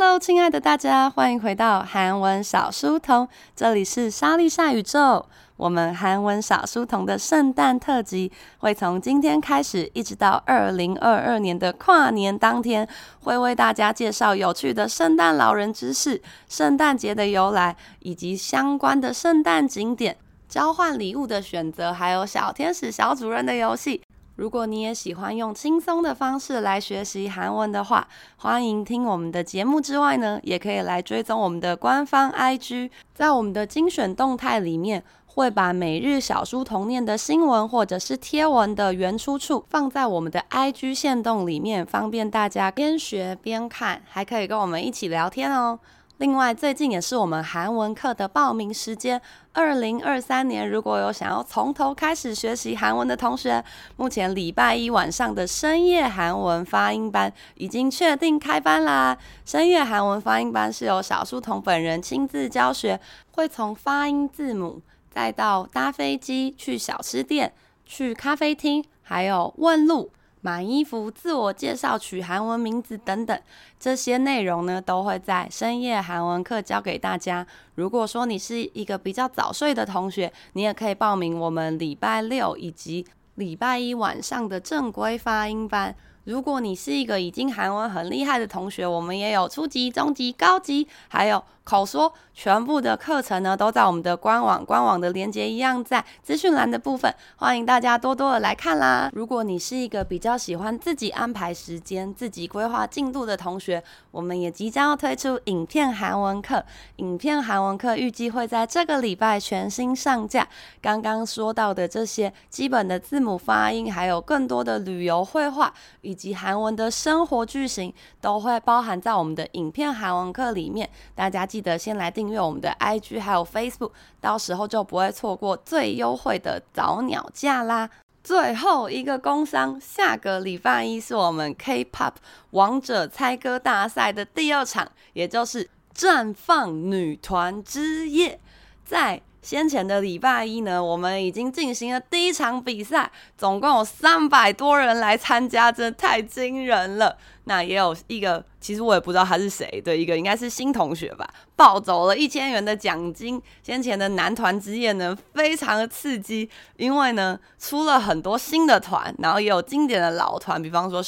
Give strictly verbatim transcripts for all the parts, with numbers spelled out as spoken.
Hello， 親愛的大家，歡迎回到韓文小書童，這裡是莎莉莎宇宙。我們韓文小書童的聖誕特輯會從今天開始，一直到二零二二年的跨年當天，會為大家介紹有趣的聖誕老人知識、聖誕節的由來，以及相關的聖誕景點、交換禮物的選擇，還有小天使小主人的遊戲。如果你也喜歡用輕鬆的方式來學習韓文的話，歡迎聽我們的節目之外呢，也可以來追蹤我們的官方 I G， 在我們的精選動態裡面，會把每日小書童念的新聞或者是貼文的原出處放在我們的 I G 限動裡面，方便大家邊學邊看，還可以跟我們一起聊天哦。另外，最近也是我們韓文課的報名時間。二零二三年，如果有想要從頭開始學習韓文的同學，目前禮拜一晚上的深夜韓文發音班已經確定開班啦。深夜韓文發音班是由小書童本人親自教學，會從發音字母，再到搭飛機、去小吃店、去咖啡廳，還有問路、買衣服、自我介紹、取韓文名字等等，這些內容呢都會在深夜韓文課教給大家。如果說你是一個比較早睡的同學，你也可以報名我們禮拜六以及禮拜一晚上的正規發音班。如果你是一個已經韓文很厲害的同學，我們也有初級、中級、高級，還有口說，全部的課程呢都在我們的官網，官網的連結一樣在資訊欄的部分，歡迎大家多多的來看啦。如果你是一個比較喜歡自己安排時間、自己規劃進度的同學，我們也即將要推出影片韓文課，影片韓文課預計會在這個禮拜全新上架。剛剛說到的這些基本的字母發音，還有更多的旅遊繪畫，以及韓文的生活句型，都會包含在我們的影片韓文課裡面。大家記得先來訂閱我們的 I G 還有 Facebook， 到時候就不會錯過最優惠的早鳥價啦。最後一個工商，下個禮拜一是我們 K-pop 王者猜歌大賽的第二場，也就是綻放女團之夜。在先前的禮拜一呢，我們已經進行了第一場比賽，總共有三百多人來參加，真的太驚人了。那也有一個，其實我也不知道他是誰的一個，應該是新同學吧，抱走了一千元的獎金。先前的男團之夜呢，非常的刺激，因為呢出了很多新的團，然後也有經典的老團，比方說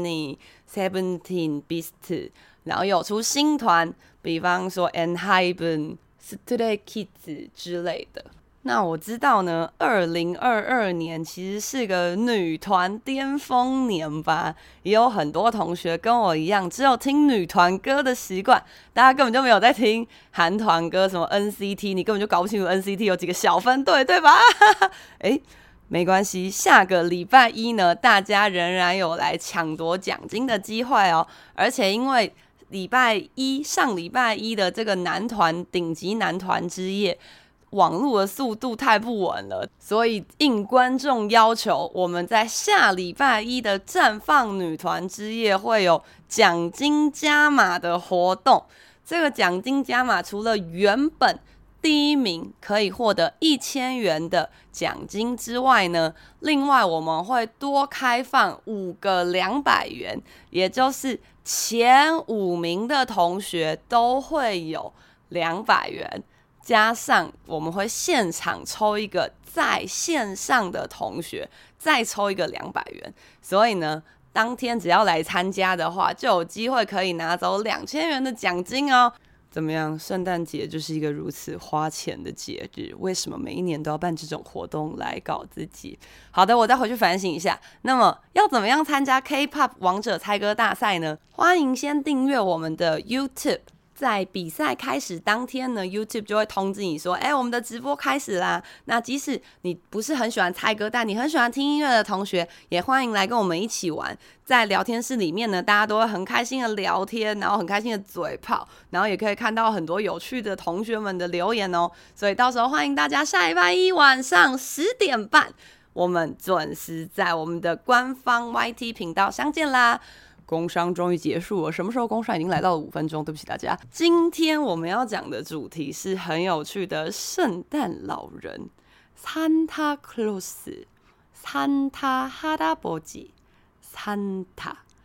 Shiny、Seventeen、Beast， 然後有出新團，比方說 ENHYPEN、Stray Kids 之類的。那我知道呢，二零二二年其實是個女團巔峰年吧，也有很多同學跟我一樣，只有聽女團歌的習慣，大家根本就沒有在聽韓團歌，什麼 N C T， 你根本就搞不清楚 N C T 有幾個小分隊，對吧？誒，沒關係，下個禮拜一呢，大家仍然有來搶奪獎金的機會哦，而且因為禮拜一上禮拜一的這個男團頂級男團之夜，網絡的速度太不穩了，所以應觀眾要求，我們在下禮拜一的綻放女團之夜會有獎金加碼的活動。這個獎金加碼除了原本第一名可以獲得一千元的獎金之外呢，另外我們會多開放五個兩百元，也就是前五名的同學都會有兩百元。加上我們會現場抽一個在線上的同學，再抽一個兩百元，所以呢，當天只要來參加的話，就有機會可以拿走兩千元的獎金哦。怎麼樣？聖誕節就是一個如此花錢的節日，為什麼每一年都要辦這種活動來搞自己？好的，我再回去反省一下。那麼要怎麼樣參加 K-pop 王者猜歌大賽呢？歡迎先訂閱我們的 YouTube。在比賽開始當天呢 ，YouTube 就會通知你說：“哎，我們的直播開始啦！”那即使你不是很喜歡猜歌，但你很喜歡聽音樂的同學，也歡迎來跟我們一起玩。在聊天室裡面呢，大家都會很開心的聊天，然後很開心的嘴炮，然後也可以看到很多有趣的同學們的留言哦。所以到時候歡迎大家下禮拜一晚上十點半，我們準時在我們的官方 Y T 頻道相見啦！工商終於結束了，什麼時候工商已經來到了五分鐘？對不起大家。今天我們要講的主題是很有趣的聖誕老人，산타 클로스，산타 할아버지，산타。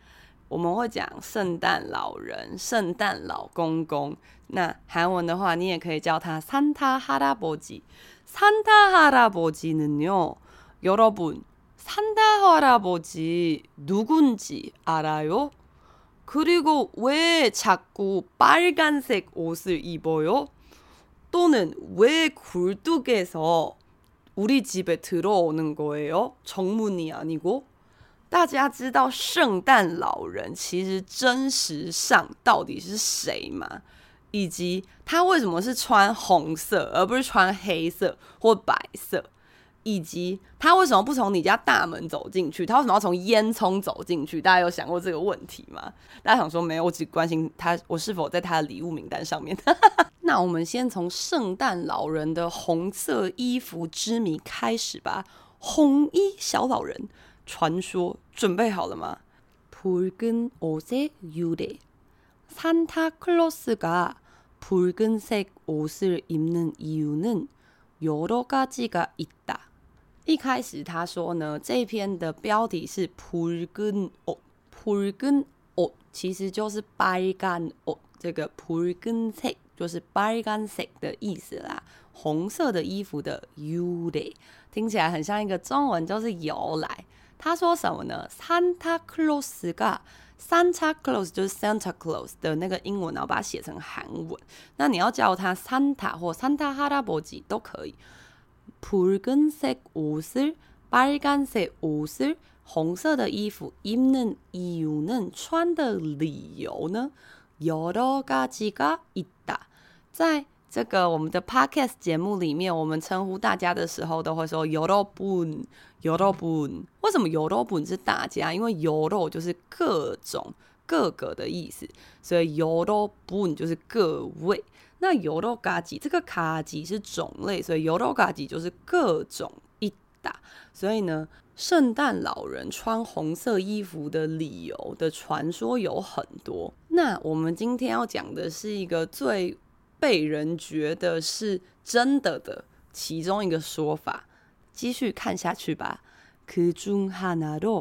我們會講聖誕老人、聖誕老公公。那韓文的話，你也可以叫他산타 할아버지。 산타 할아버지는요, 여러분, 산타 할아버지 누군지 알아요? 그리고 왜 자꾸 빨간색 옷을 입어요? 또는 왜 굴뚝에서 우리 집에 들어오는 거예요? 정문이 아니고? 大家知道聖誕老人其實真實上到底是誰嗎？以及他為什麼是穿紅色而不是穿黑色或白色？以及他為什麼不從你家大門走進去？他為什麼要從煙囪走進去？大家有想過這個問題嗎？大家想說沒有，我只關心他我是否在他的禮物名單上面。那我們先從聖誕老人的紅色衣服之謎開始吧。紅衣小老人傳說，準備好了嗎？붉은 옷의 유래。 산타클로스가 붉은색 옷을 입는 이유는 여러 가지가 있다。 一開始他說呢，這篇的標題是붉은 옷， 붉은 옷其實就是 빨간 옷， 這個붉은색就是빨간색的意思啦，紅色的衣服的유래，聽起來很像一個中文，就是由來。他說什麼呢？ Santa Claus가 Santa Claus 就是 Santa Claus 的那個英文，然後把它寫成韓文。那你要叫他 Santa 或 Santa 할아버지都可以。붉은색 옷을 빨간색 옷을 紅色的衣服 입는 이유는 穿的理由呢 여러 가지가 있다。 在這個我們的 podcast 節目裡面，我們稱呼大家的時候都會說여러분 여러분。 為什麼여러분是大家？因為여러就是各種各個的意思，所以여러분就是各位。那여러 가지這個가지是種類，所以여러 가지就是各種一打。所以呢，聖誕老人穿紅色衣服的理由的傳說有很多。那我們今天要講的是一個最被人覺得是真的的其中一個說法。繼續看下去吧。그중 하나로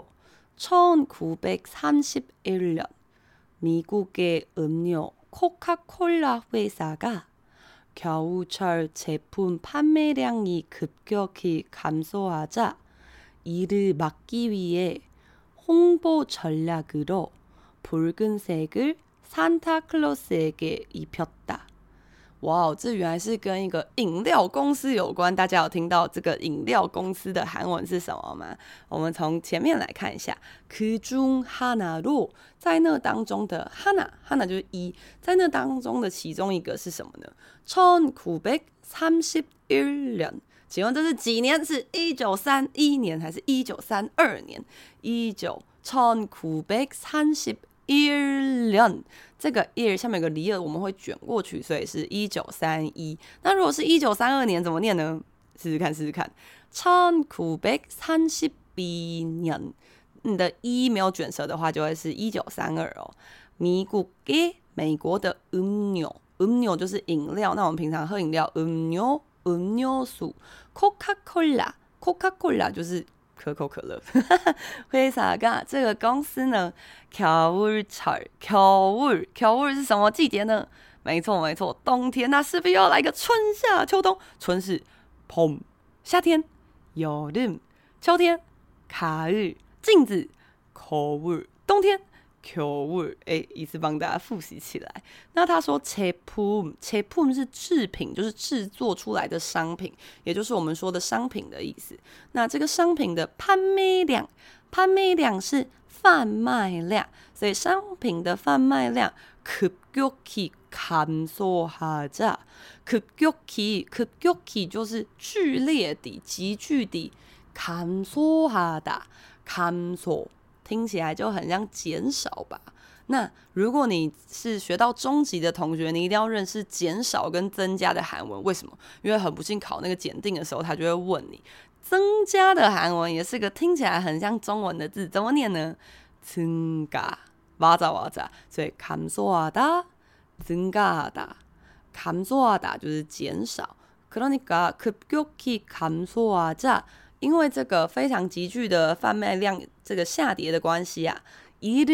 천구백삼십일 년 미국의 음료 코카콜라 회사가 겨우철 제품 판매량이 급격히 감소하자 이를 막기 위해 홍보 전략으로 붉은색을 산타클로스에게 입혔다。 哇、wow, ，这原來是跟一個飲料公司有關。大家有聽到這個飲料公司的韓文是什麼嗎？我們從前面來看一下。그중 하나로在那當中的하나 하나就是一，在那當中的其中一個是什麼呢？천구백삼십일 년，請問這是幾年？是一九三一年還是一九三二年？一九천구백삼십일 년，這個一下面有個里爾，我們會捲過去，所以是一九三一。那如果是一九三二年怎麼念呢？試試看，試試看。천구백삼십이 년，你的一沒有捲舌的話，就會是一九三二哦。미국의美國的음료，음료就是飲料。那我們平常喝飲料，음료 음료수。코카콜라，코카콜라就是可口可樂。회사가這個公司呢，겨울철，겨울，겨울是什麼季節呢？沒錯沒錯，冬天。那勢必要來個春夏秋冬。春是봄，夏天여름，秋天가을，鏡子거울，冬天겨울。哎，一次幫大家複習起來。那他說제품，제품是製品，就是製作出來的商品，也就是我們說的商品的意思。那這個商品的판매량，판매량是販賣量，所以商品的販賣量급격히 감소하자， 급격히 급격히就是劇烈地、急劇地감소하다， 감소聽起來就很像減少吧。那如果你是學到中級的同學，你一定要認識減少跟增加的韓文。為什麼？因為很不幸考那個檢定的時候，他就會問你，增加的韓文也是個聽起來很像中文的字，怎麼念呢？增加，맞아 맞아。所以감소하다，增加하다，감소하다就是減少。그러니까 급격히 감소하자，因為這個非常急劇的販賣量這個下跌的關係啊，이를 막기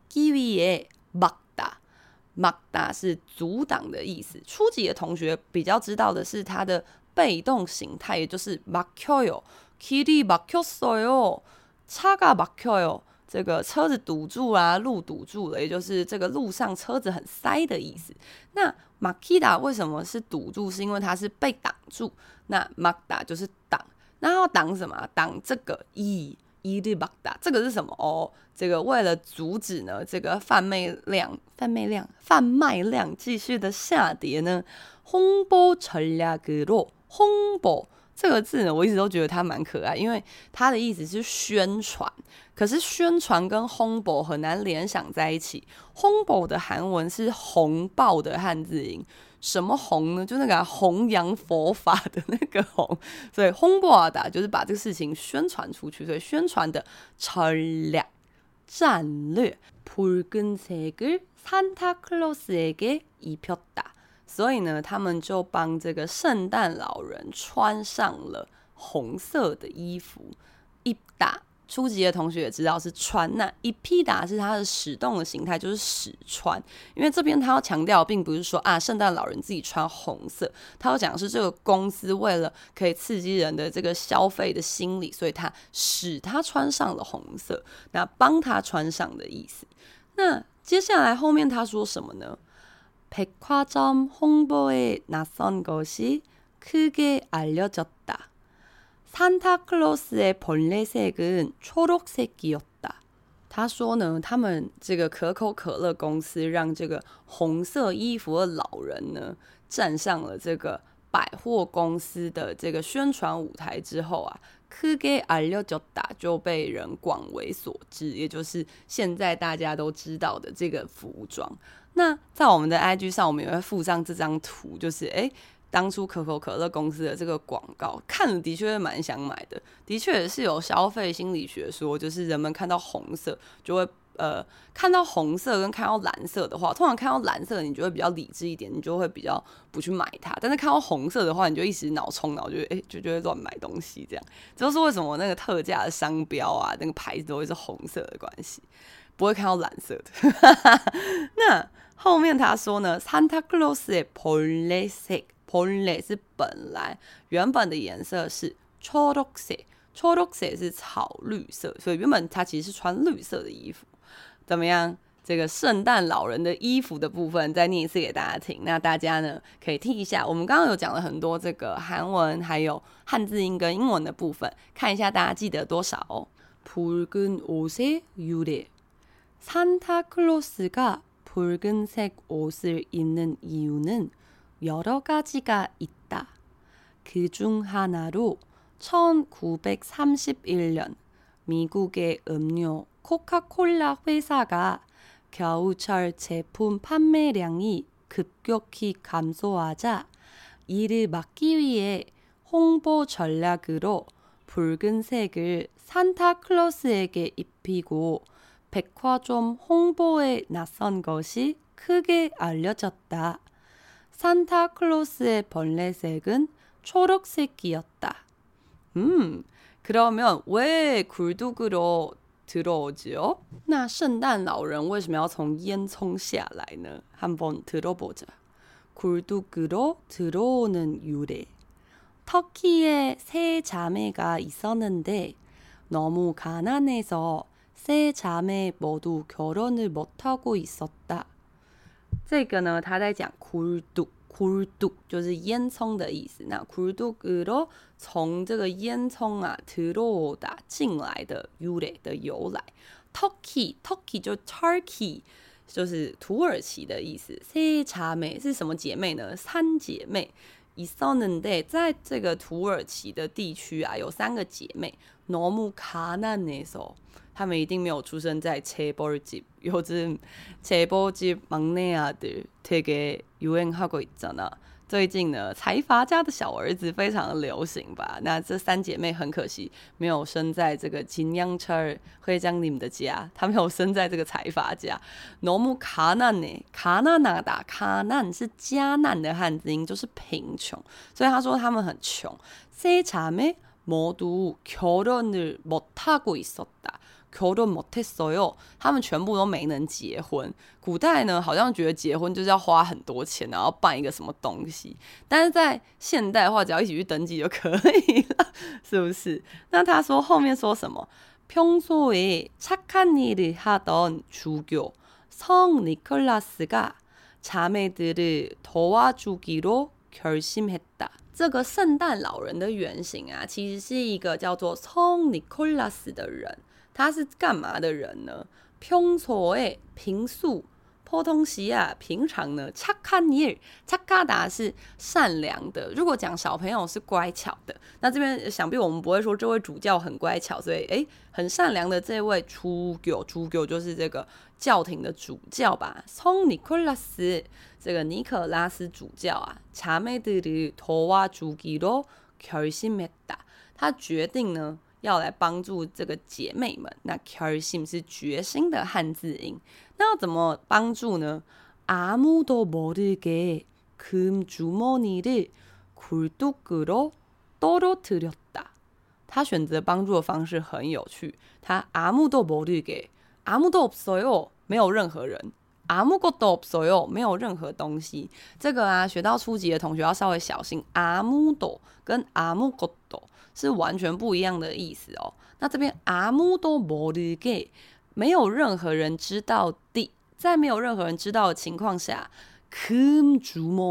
막기 위해 막다， 막다是阻擋的意思。初級的同學比較知道的是它的被動形態，也就是막혀요， 길이 막혔어요， 차가 막혀요。這個車子堵住啦，路堵住了，也就是這個路上車子很塞的意思。那막히다為什麼是堵住？是因為它是被擋住。那막다就是擋，那要擋什麼？擋這個이 이를 막다，這個是什麼？哦，這個為了阻止呢，這個販賣量、販賣量、販賣量繼續的下跌呢，홍보 전략으로 홍보。這個字呢，我一直都覺得它蠻可愛，因為它的意思是宣傳。可是宣傳跟홍보很難聯想在一起。홍보的韓文是紅爆的漢字音，什麼紅呢？就那個弘揚佛法的那個紅。所以홍보하다就是把這個事情宣傳出去，所以宣傳的전략戰略。붉은색을 산타클로스에게 입혔다。所以呢，他們就幫這個聖誕老人穿上了紅色的衣服。입다初級的同學也知道是穿，那입히다是它的使動的形態，就是使穿。因為這邊他要強調，並不是說啊，聖誕老人自己穿紅色，他要講的是這個公司為了可以刺激人的這個消費的心理，所以他使他穿上了紅色，那幫他穿上的意思。那接下來後面他說什麼呢？백화점 홍보에 나선 것이 크게 알려졌다. 산타클로스의 벌레색은 초록색이었다. 他說呢，他們這個可口可樂公司讓這個紅色衣服的老人呢站上了這個百貨公司的這個宣傳舞台之後啊，크게 알려졌다就被人廣為所知，也就是現在大家都知道的這個服裝。那在我們的 I G 上，我們也會附上這張圖，就是哎，當初可口可樂公司的這個廣告，看了的確是蠻想買的。的確也是有消費心理學說，就是人們看到紅色就會呃，看到紅色跟看到藍色的話，通常看到藍色你就會比較理智一點，你就會比較不去買它。但是看到紅色的話，你就一時腦衝腦，就哎就就會亂買東西這樣。這就是為什麼那個特價的商標啊，那個牌子都會是紅色的關係，不會看到藍色的。那後面他說呢，산타클로스의 벌레색， 벌레是本來原本的顏色是초록색， 초록색是草綠色，所以原本他其實是穿綠色的衣服。怎麼樣？這個聖誕老人的衣服的部分再念一次給大家聽，那大家呢可以聽一下。我們剛剛有講了很多這個韓文還有漢字音跟英文的部分，看一下大家記得多少哦。붉은 옷의 유래， 산타클로스가 붉은색 옷을 입는 이유는 여러 가지가 있다. 그중 하나로 천구백삼십일 년 미국의 음료 코카콜라 회사가 겨우철 제품 판매량이 급격히 감소하자 이를 막기 위해 홍보 전략으로 붉은색을 산타클로스에게 입히고 백화점 홍보에 나선 것이 크게 알려졌다. 산타클로스의 벌레색은 초록색이었다. 음, 그러면 왜 굴뚝으로 들어오지요? 那聖誕老人為什麼要從煙囪下來呢？ 한번 들어보자. 굴뚝으로 들어오는 유래. 터키에 세 자매가 있었는데 너무 가난해서 세 자매 모두 결혼을 못하고 있었다. 這個呢，他在講 굴뚝， 굴뚝就是煙囪的意思。那 굴뚝으로從這個煙囪啊 들어오다進來的 유래的由來。터키 터키就 Turkey 就是土耳其的意思。세 자매是什麼姐妹呢？三姐妹。있었는데在這個土耳其的地區啊，有三個姐妹。너무 가난해서他們一定沒有出生在재벌집。 요즘 재벌집 막내 아들 되게 유행하고 있잖아。 最近呢，財閥家的小兒子非常的流行吧。那這三姐妹很可惜沒有生在這個김양철 회장님的家，她沒有生在這個財閥家。너무 가난해， 가난하다， 가난是家難的漢字音，就是貧窮，所以他說他們很窮。세 자매 모두 결혼을 못하고 있었다。 결혼 못했어요，他們全部都沒能結婚。古代呢，好像覺得結婚就是要花很多錢，然後辦一個什麼東西。但是在現代的話，只要一起去登記就可以了，是不是？那他說後面說什麼？ 평소에 착한 일을 하던 주교 성 니콜라스가 자매들을 도와주기로 결심했다。這個聖誕老人的原型啊，其實是一個叫做성니콜라스的人。他是幹嘛的人呢？평소에平素보통시야平常呢，착한 일，착하다是善良的。如果講小朋友是乖巧的，那這邊想必我們不會說這位主教很乖巧，所以誒，很善良的這位主教，主教就是這個教廷的主教吧。성 니콜라스這個尼可拉斯主教啊，자매들을 도와주기로 결심했다。他決定呢，要來幫助這個姐妹們。那결심是決心的漢字音。那要怎麼幫助呢？아무도 모르게 금 주머니를 굴뚝으로 떨어뜨렸다。他選擇幫助的方式很有趣。他아무도 모르게，아무도 없어요，沒有任何人。아무것도 없어요，沒有任何東西。這個啊，學到初級的同學要稍微小心。아무도跟아무것도是完全不一樣的意思哦。那這邊아무도 모르게，沒有任何人知道的，在沒有任何人知道的情況下，금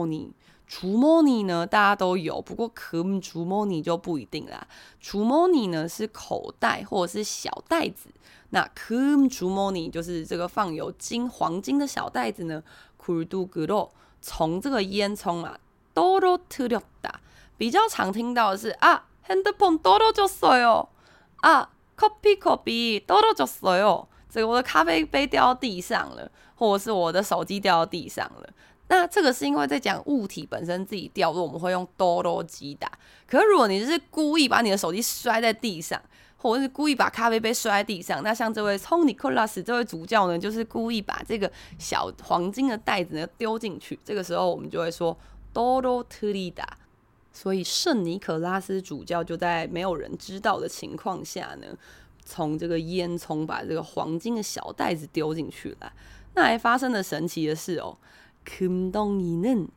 주머니，주머니呢大家都有，不過금 주머니就不一定啦。주머니呢是口袋或者是小袋子，那금 주머니就是這個放有金黃金的小袋子呢。굴뚝으로從這個煙囪啊떨어뜨렸다，比較常聽到的是啊핸드폰 떨어졌어요，啊커피컵이 떨어졌어요。這個我的咖啡杯掉到地上了，或者是我的手機掉到地上了。那這個是因為在講物體本身自己掉落，我們會用多羅基打。可是如果你是故意把你的手機摔在地上，或者是故意把咖啡杯摔在地上，那像這位성니콜라스這位主教呢，就是故意把這個小黃金的袋子呢丟進去。這個時候我們就會說多羅特里達。所以聖尼可拉斯主教就在沒有人知道的情況下呢，從這個煙囪把這個黃金的小袋子丟進去了。那還發生了神奇的事哦。금덩이는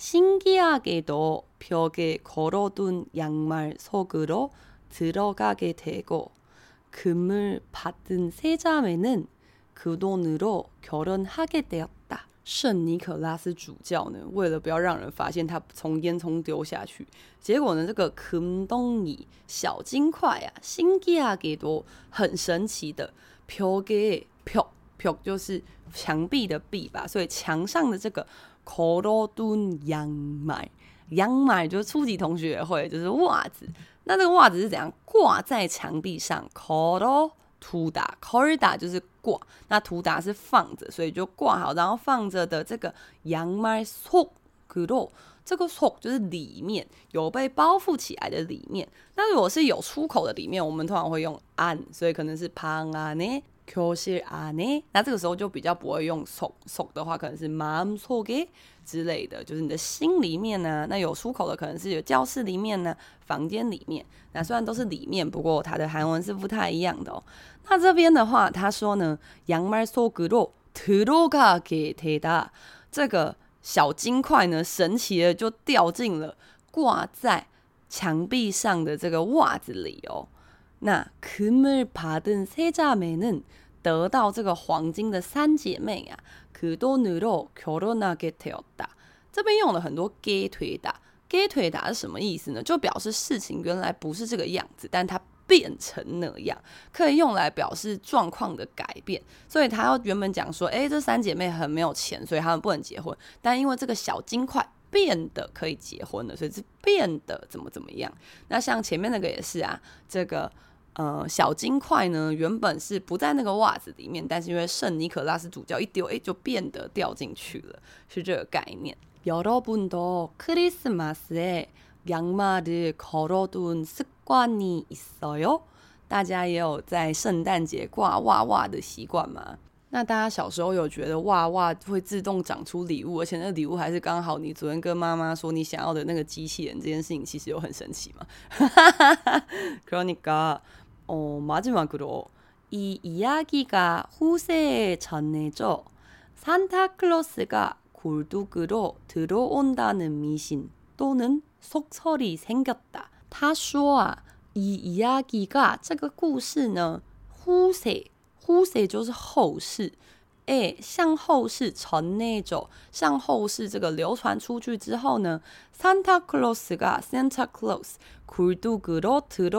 신기하게도 벽에 걸어둔 양말 속으로 들어가게 되고 금을 받은 세 자매는 그 돈으로 결혼하게 되었다。聖尼可拉斯主教呢，為了不要讓人發現他從煙囪丟下去，結果呢，這個금덩이小金塊啊，신기하게도很神奇的，벽에 벽 벽就是牆壁的壁吧，所以牆上的這個걸어둔 양말，양말就是初級同學也會，就是襪子。那這個襪子是怎樣掛在牆壁上？걸어두다，걸다就是掛，那두다是放着，所以就掛好，然後放着的這個양말 속으로，這個속就是裡面，有被包覆起來的裡面。那如果是有出口的裡面，我們通常會用안，所以可能是방 안에。교실 안에，那這個時候就比較不會用속，속的話可能是마음속에之類的，就是你的心裡面呢、啊。那有出口的可能是有教室裡面呢、啊，房間裡面。那雖然都是裡面，不過它的韓文是不太一樣的哦。那這邊的話，他說呢，양말 속으로 들어가게 되다，這個小金塊呢，神奇的就掉進了掛在牆壁上的這個襪子裡哦。那금을 받은 세 자매는得到這個黃金的三姐妹啊，그 돈으로 결혼하게 되었다。這邊用了很多給腿打，給腿打是什麼意思呢？就表示事情原來不是這個樣子，但它變成那樣，可以用來表示狀況的改變。所以他要原本講說，哎，這三姐妹很沒有錢，所以他們不能結婚，但因為這個小金塊變得可以結婚了，所以是變得怎麼怎麼樣。那像前面那個也是啊，這個。呃，小金塊呢，原本是不在那個襪子裡面，但是因為聖尼可拉斯主教一丟，哎，就變得掉進去了，是這個概念。여러분도 크리스마스에 양말을 걸어둔 습관이 있어요？大家也有在聖誕節掛襪襪的習慣嗎？那大家小時候有覺得襪襪會自動長出禮物，而且那禮物還是剛好你昨天跟媽媽說你想要的那個機器人，這件事情其實有很神奇嗎？그러니까 어, 마지막으로 이 이야기가 후세에 전해져 산타클로스가 굴뚝으로 들어온다는 미신 또는 속설이 생겼다.他說啊，이 이야기가這個故事呢，후세 후세就是後世。誒，向後世전해져，向後世這個流傳出去之後呢，산타클로스가 Santa Claus 굴뚝으로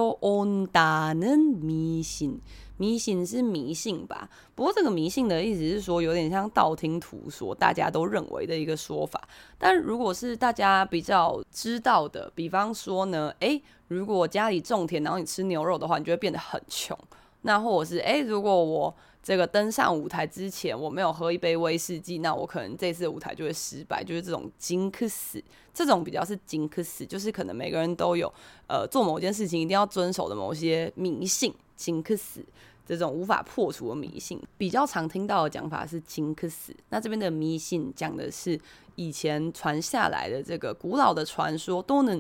들어온다는迷信，迷信是迷信吧？不過這個迷信的意思是說，有點像道聽途說，大家都認為的一個說法。但如果是大家比較知道的，比方說呢，誒，如果家裡種田，然後你吃牛肉的話，你就會變得很窮。那或者是誒，如果我這個登上舞台之前，我沒有喝一杯威士忌，那我可能這次的舞台就會失敗，就是這種金克斯，這種比較是金克斯，就是可能每個人都有呃做某件事情一定要遵守的某些迷信，金克斯這種無法破除的迷信，比較常聽到的講法是金克斯。那這邊的迷信講的是以前傳下來的這個古老的傳說，都能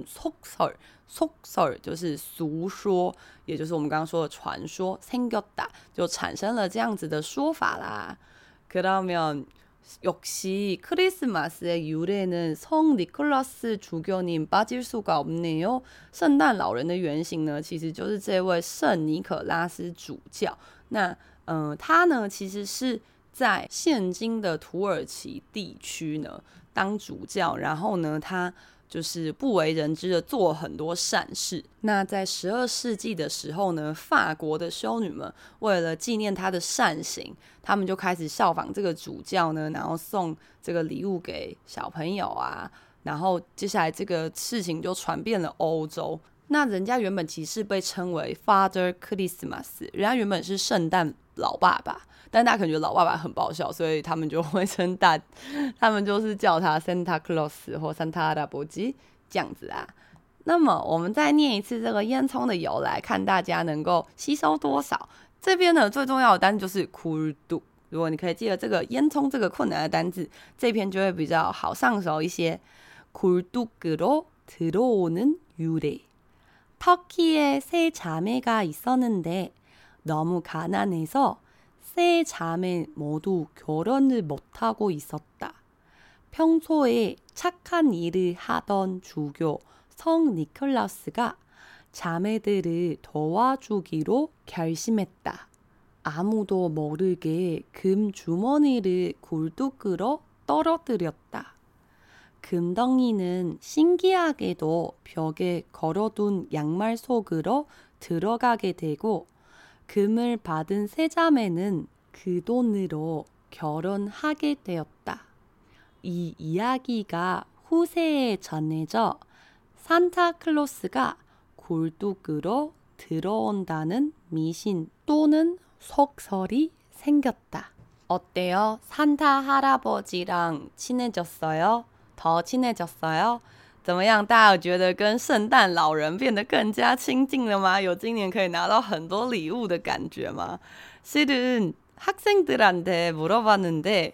속설，속설就是俗說，也就是我們剛剛說的傳說，생겼다就產生了這樣子的說法啦。그러면 역시 크리스마스의 유래는 성 니콜라스 주교님 빠질 수가 없네요. 聖誕老人的原型呢，其實就是這位聖尼可拉斯主教。那呃，他呢，其實是在現今的土耳其地區呢當主教，然後呢，他就是不為人知的做很多善事。那在十二世紀的時候呢，法國的修女們為了紀念他的善行，他們就開始效仿這個主教呢，然後送這個禮物給小朋友啊，然後接下來這個事情就傳遍了歐洲。那人家原本其實被稱為 Father Christmas， 人家原本是聖誕老爸爸，但大家可能覺得老爸爸很爆笑，所以他們就會稱大，他們就是叫他 Santa Claus 或 Santa 할아버지這樣子啊。那麼我們再念一次這個煙囪的由來，看大家能夠吸收多少。這邊呢最重要的單詞就是 굴뚝， 如果你可以記得這個煙囪這個困難的單字，這篇就會比較好上手一些。굴뚝으로 들어오는 유래。 터키에 세 자매가 있었는데 너무 가난해서 세 자매 모두 결혼을 못하고 있었다. 평소에 착한 일을 하던 주교 성 니콜라스가 자매들을 도와주기로 결심했다. 아무도 모르게 금 주머니를 굴뚝으로 떨어뜨렸다. 금덩이는 신기하게도 벽에 걸어둔 양말 속으로 들어가게 되고 금을 받은 세 자매는 그 돈으로 결혼하게 되었다. 이 이야기가 후세에 전해져 산타클로스가 굴뚝으로 들어온다는 미신 또는 속설이 생겼다. 어때요? 산타 할아버지랑 친해졌어요? 더 친해졌어요? 怎麼樣？大家有覺得跟聖誕老人變得更加親近了嗎？有今年可以拿到很多禮物的感覺嗎？ 실은 학생들한테 물어봤는데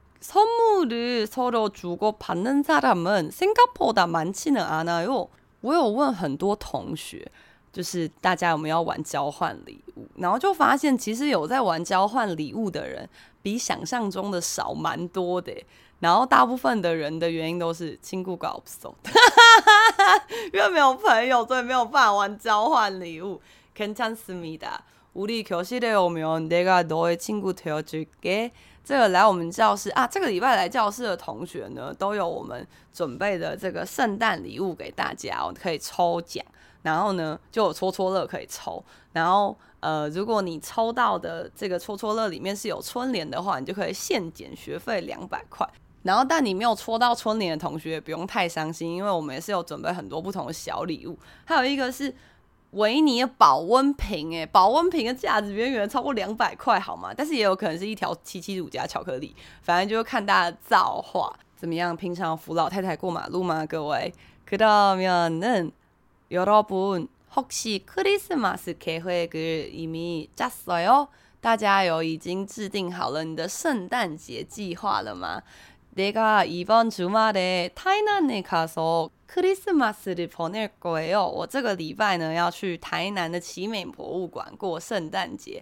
선물을 서로 주고받는 사람은 생각보다 많지는 않아요. 我有問很多同學，就是大家有沒有玩交換禮物，然後就發現其實有在玩交換禮物的人比想象中的少蠻多的。然後大部分的人的原因都是친구가 없어，因為沒有朋友，所以沒有辦法玩交換禮物。괜찮습니다. 우리 교실에 오면 내가 너의 친구 되어줄게。這個來我們教室啊，這個禮拜來教室的同學呢，都有我們準備的這個聖誕禮物給大家，我可以抽獎。然後呢，就有戳戳樂可以抽。然後呃，如果你抽到的這個戳戳樂裡面是有春聯的話，你就可以現減學費兩百塊。然後，但你沒有戳到春聯的同學也不用太傷心，因為我們也是有準備很多不同的小禮物。還有一個是維尼的保溫瓶，誒，保溫瓶的價值遠遠超過兩百塊，好嗎？但是也有可能是一條七七乳加巧克力，反正就是看大家的造化怎麼樣。平常扶老太太過馬路嗎？各位？그러면은 여러분 혹시 크리스마스 계획을 이미 짰어요？ 大家有已經制定好了你的聖誕節計劃了嗎？ 내가 이번 주말에 타이난에 가서 크리스마스를 보낼 거예요. 我這個禮拜呢要去台南的奇美博物館過聖誕節。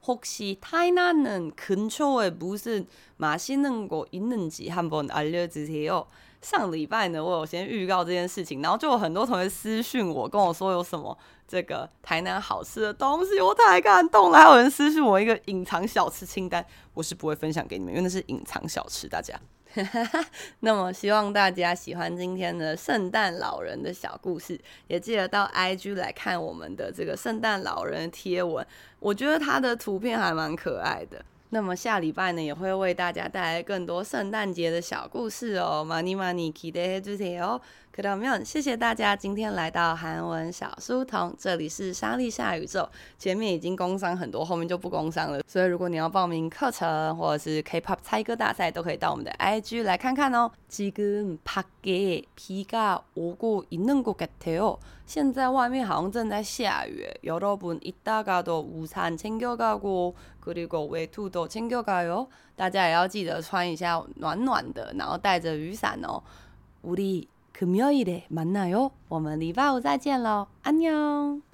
혹시 타이난은 근처에 무슨 맛있는 거 있는지 한번 알려주세요。上禮拜呢，我有先預告這件事情，然後就有很多同學私訊我，跟我說有什麼這個台南好吃的東西，我太感動了。還有人私訊我一個隱藏小吃清單，我是不會分享給你們，因為那是隱藏小吃，大家。那麼希望大家喜歡今天的聖誕老人的小故事，也記得到 I G 來看我們的這個聖誕老人的貼文，我覺得他的圖片還蠻可愛的。那麼下禮拜呢，也會為大家帶來更多聖誕節的小故事哦，많이 많이 기대해 주세요。그러면謝謝大家今天來到韓文小書童，這裡是莎莉夏宇宙。前面已經工商很多，後面就不工商了。所以如果你要報名課程或者是 K-pop 猜歌大賽，都可以到我們的 I G 來看看哦。지금 밖에 비가 오고 있는 것 같아요。現在外面好像正在下雨，여러분 이따가도 우산 챙겨가고 그리고 외투도 챙겨가요。大家也要記得穿一下暖暖的，然後帶着雨傘哦。우리 금요일에 만나요。我們禮拜五再見嘍，안녕。